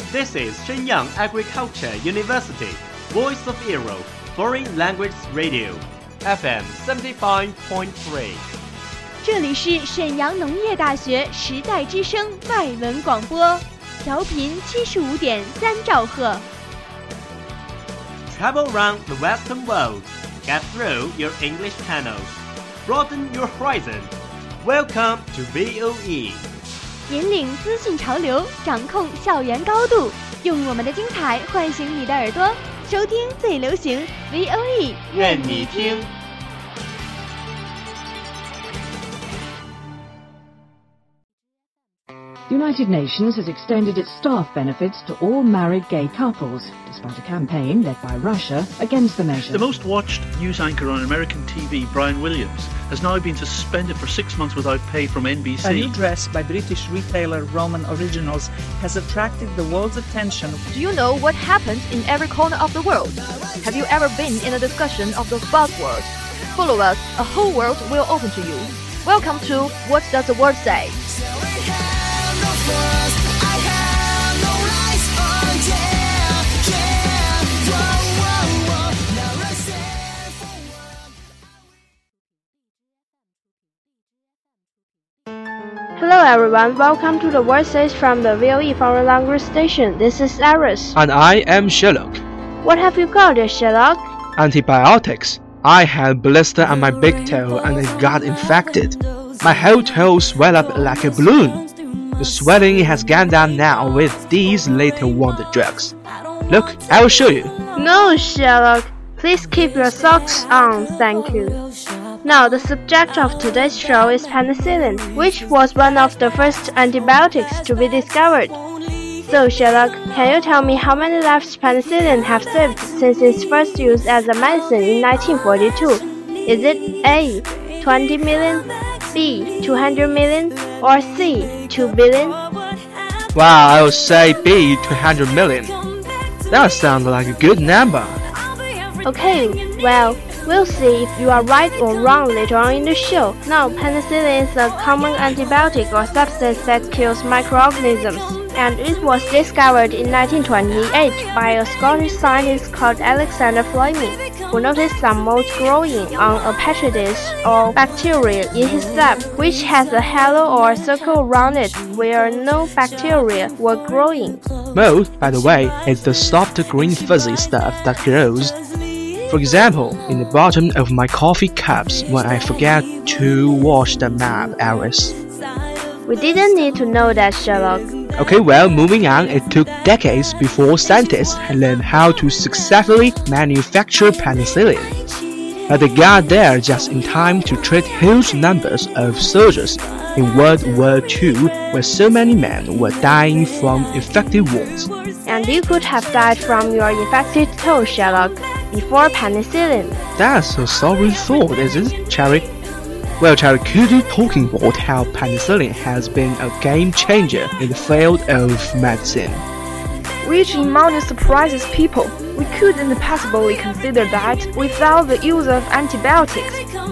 This is Shenyang Agriculture University, Voice of Europe, Foreign Language Radio, FM 75.3。 这里是沈阳农业大学时代之声外文广播，调频75.3兆赫。 Travel around the Western world, get through your English channels, broaden your horizon. Welcome to VOE. 引领资讯潮流，掌控校园高度，用我们的精彩唤醒你的耳朵，收听最流行 VOE， 愿你听。 The United Nations has extended its staff benefits to all married gay couples, despite a campaign led by Russia against the measure. The most watched news anchor on American TV, Brian Williams, has now been suspended for 6 months without pay from NBC. A new dress by British retailer Roman Originals has attracted the world's attention. Do you know what happens in every corner of the world? Have you ever been in a discussion of those buzzwords? Follow us, a whole world will open to you. Welcome to What Does the World Say? Hello everyone, welcome to the World Says from the VOE Foreign Language Station. This is Iris. And I am Sherlock. What have you got, Sherlock? Antibiotics. I had blister on my big toe and it got infected. My whole toe swelled up like a balloon. The swelling has gone down now with these little wonder drugs. Look, I will show you. No, Sherlock. Please keep your socks on, thank you. Now, the subject of today's show is penicillin, which was one of the first antibiotics to be discovered. So, Sherlock, can you tell me how many lives penicillin have saved since its first use as a medicine in 1942? Is it A, 20 million, B, 200 million, or C, 2 billion? Well, I would say B, 200 million. That sounds like a good number. Okay, well, we'll see if you are right or wrong later on in the show. Now, penicillin is a common antibiotic or substance that kills microorganisms, and it was discovered in 1928 by a Scottish scientist called Alexander Fleming, who noticed some molds growing on a petri dish or bacteria in his lab, which has a halo or circle around it where no bacteria were growing. Mold, by the way, is the soft green fuzzy stuff that grows. For example, in the bottom of my coffee cups when I forget to wash them up, Iris. We didn't need to know that, Sherlock. Okay, well, moving on, it took decades before scientists had learned how to successfully manufacture penicillin. But they got there just in time to treat huge numbers of soldiers in World War II, where so many men were dying from infected wounds. And you could have died from your infected toe, Sherlock, before penicillin. That's a sorry thought, isn't it, Cherry? Well, Cherry, could you talk about how penicillin has been a game changer in the field of medicine? Which in amount surprises people. We couldn't possibly consider that without the use of antibiotics.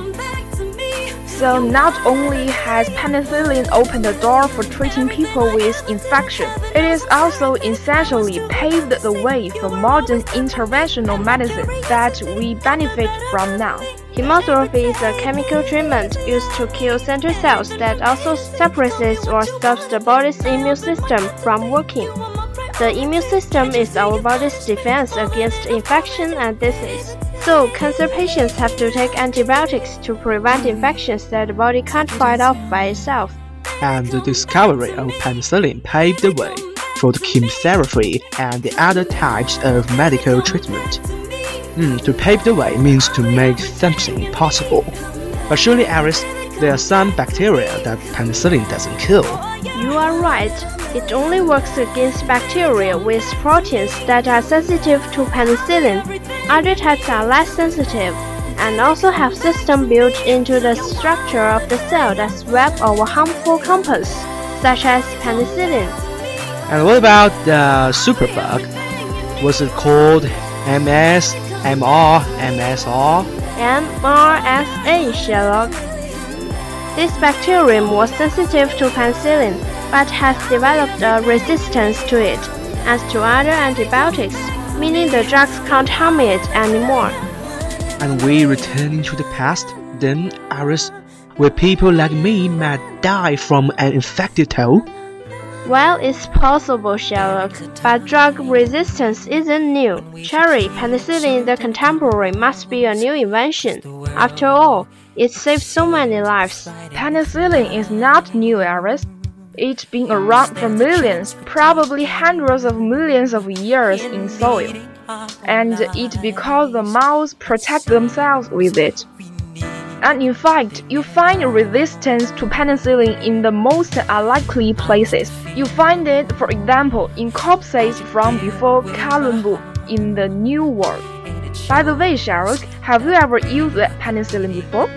So not only has penicillin opened the door for treating people with infection, it has also essentially paved the way for modern interventional medicine that we benefit from now. Chemotherapy is a chemical treatment used to kill cancer cells that also suppresses or stops the body's immune system from working. The immune system is our body's defense against infection and disease. So, cancer patients have to take antibiotics to prevent infections that the body can't fight off by itself. And the discovery of penicillin paved the way for the chemotherapy and the other types of medical treatment. To pave the way means to make something possible. But surely, Iris, there are some bacteria that penicillin doesn't kill. You are right. It only works against bacteria with proteins that are sensitive to penicillin. Other types are less sensitive and also have systems built into the structure of the cell that swap over harmful compounds, such as penicillin. And what about the superbug? Was it called MS, MR, MSR? MRSA, Sherlock. This bacterium was sensitive to penicillin, but has developed a resistance to it. as to other antibiotics, meaning the drugs can't harm it anymore. And we returning to the past, then, Iris, where people like me might die from an infected toe? Well, it's possible, Sherlock, but drug resistance isn't new. Cherry, penicillin, the contemporary, must be a new invention. After all, it saved so many lives. Penicillin is not new, Iris. It's been around for millions, probably hundreds of millions of years in soil. And it's because the mouse protect themselves with it. And in fact, you find resistance to penicillin in the most unlikely places. You find it, for example, in corpses from before Columbus in the New World. By the way, Sherlock, have you ever used penicillin before?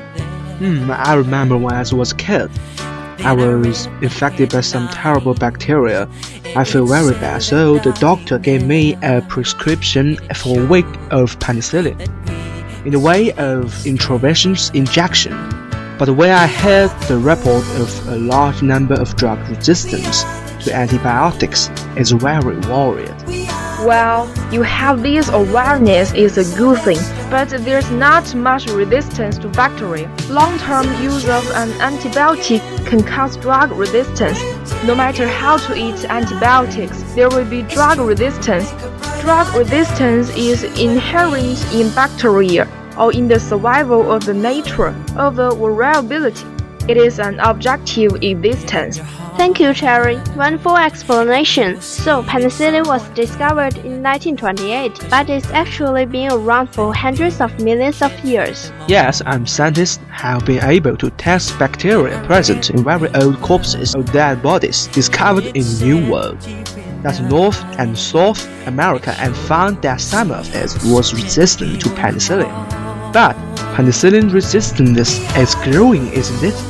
I remember when I was a kid. I was infected by some terrible bacteria. I feel very bad, so the doctor gave me a prescription for a week of penicillin, in the way of intravenous injection. But when I heard the report of a large number of drug resistance to antibiotics, it's very worried. Well, you have this awareness is a good thing, but there's not much resistance to bacteria. Long-term use of an antibiotic can cause drug resistance. No matter how to eat antibiotics, there will be drug resistance. Drug resistance is inherent in bacteria or in the survival of the nature of the variability. It is an objective existence. Thank you, Cherry. Wonderful explanation. So, penicillin was discovered in 1928, but it's actually been around for hundreds of millions of years. Yes, and scientists have been able to test bacteria present in very old corpses or dead bodies discovered in the New World. That's North and South America, and found that some of it was resistant to penicillin. But penicillin resistance is growing, isn't it?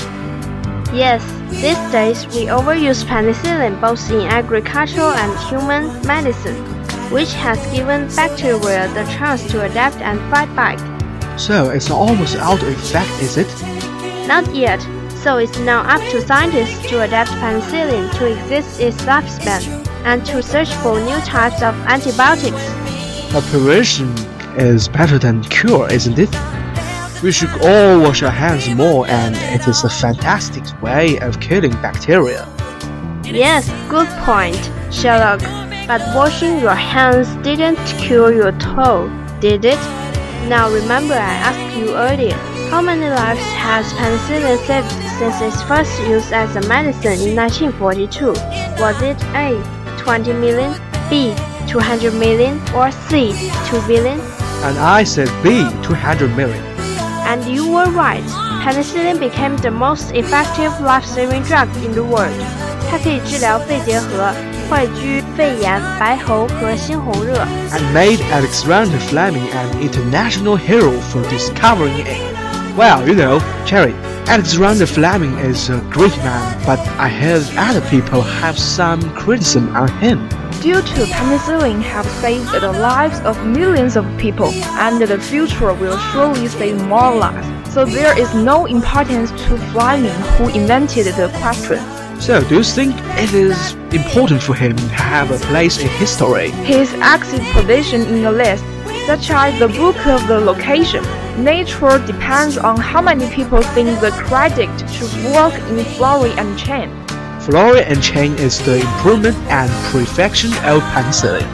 Yes, these days we overuse penicillin both in agricultural and human medicine, which has given bacteria the chance to adapt and fight back. So it's almost out of effect, is it? Not yet, so it's now up to scientists to adapt penicillin to exist its lifespan and to search for new types of antibiotics. But prevention is better than cure, isn't it? We should all wash our hands more, and it is a fantastic way of killing bacteria. Yes, good point, Sherlock. But washing your hands didn't cure your toe, did it? Now remember I asked you earlier, how many lives has penicillin saved since its first use as a medicine in 1942? Was it A, 20 million, B, 200 million, or C, 2 billion? And I said B, 200 million. And you were right. Penicillin became the most effective life-saving drug in the world. 它可以治疗肺结核、坏疽、肺炎、白喉和猩红热。 And made Alexander Fleming an international hero for discovering it. Well, you know, Cherry, Alexander Fleming is a great man, but I heard other people have some criticism on him. Due to penicillin have saved the lives of millions of people, and the future will surely save more lives. So there is no importance to Fleming, who invented the question. So do you think it is important for him to have a place in history? His exit position in the list, such as the book of the location, nature depends on how many people think the credit should work in Florey and Chen. Florey and Chen is the improvement and perfection of penicillin.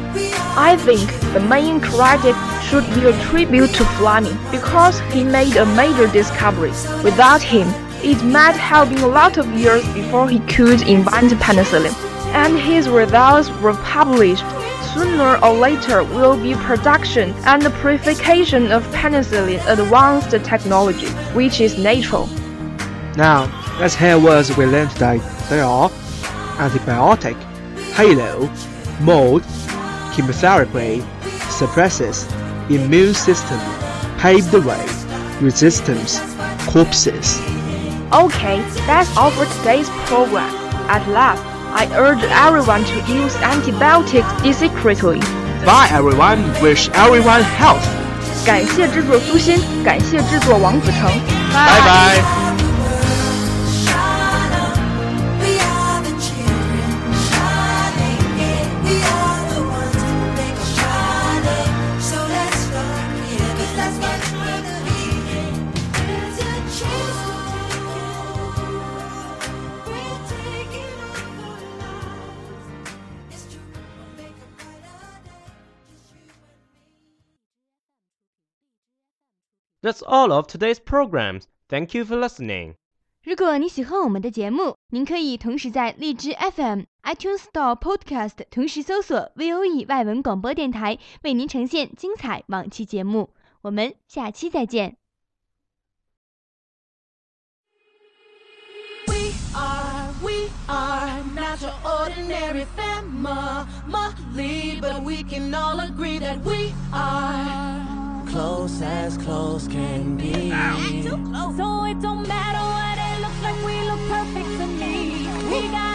I think the main credit should be a tribute to Fleming because he made a major discovery. Without him, it might have been a lot of years before he could invent penicillin, and his results were published. Sooner or later will be production and purification of penicillin advanced technology, which is natural. Now, let's hear words we learned today. They are antibiotic, halo, mold, chemotherapy, suppresses, immune system, paved the way, resistance, corpses. Okay, that's all for today's program. At last, I urge everyone to use antibiotics discreetly. Bye everyone, wish everyone health. 感谢制作苏欣，感谢制作王子成。 拜拜。 That's all of today's programs. Thank you for listening. 如果你喜欢我们的节目，您可以同时在荔枝 FM、iTunes Store Podcast 同时搜索 VOE 外文广播电台，为您呈现精彩往期节目。我们下期再见。 We are not your ordinary family, but we can all agree that we are close as close can be. Too close. So it don't matter what it looks like, we look perfect to me. We got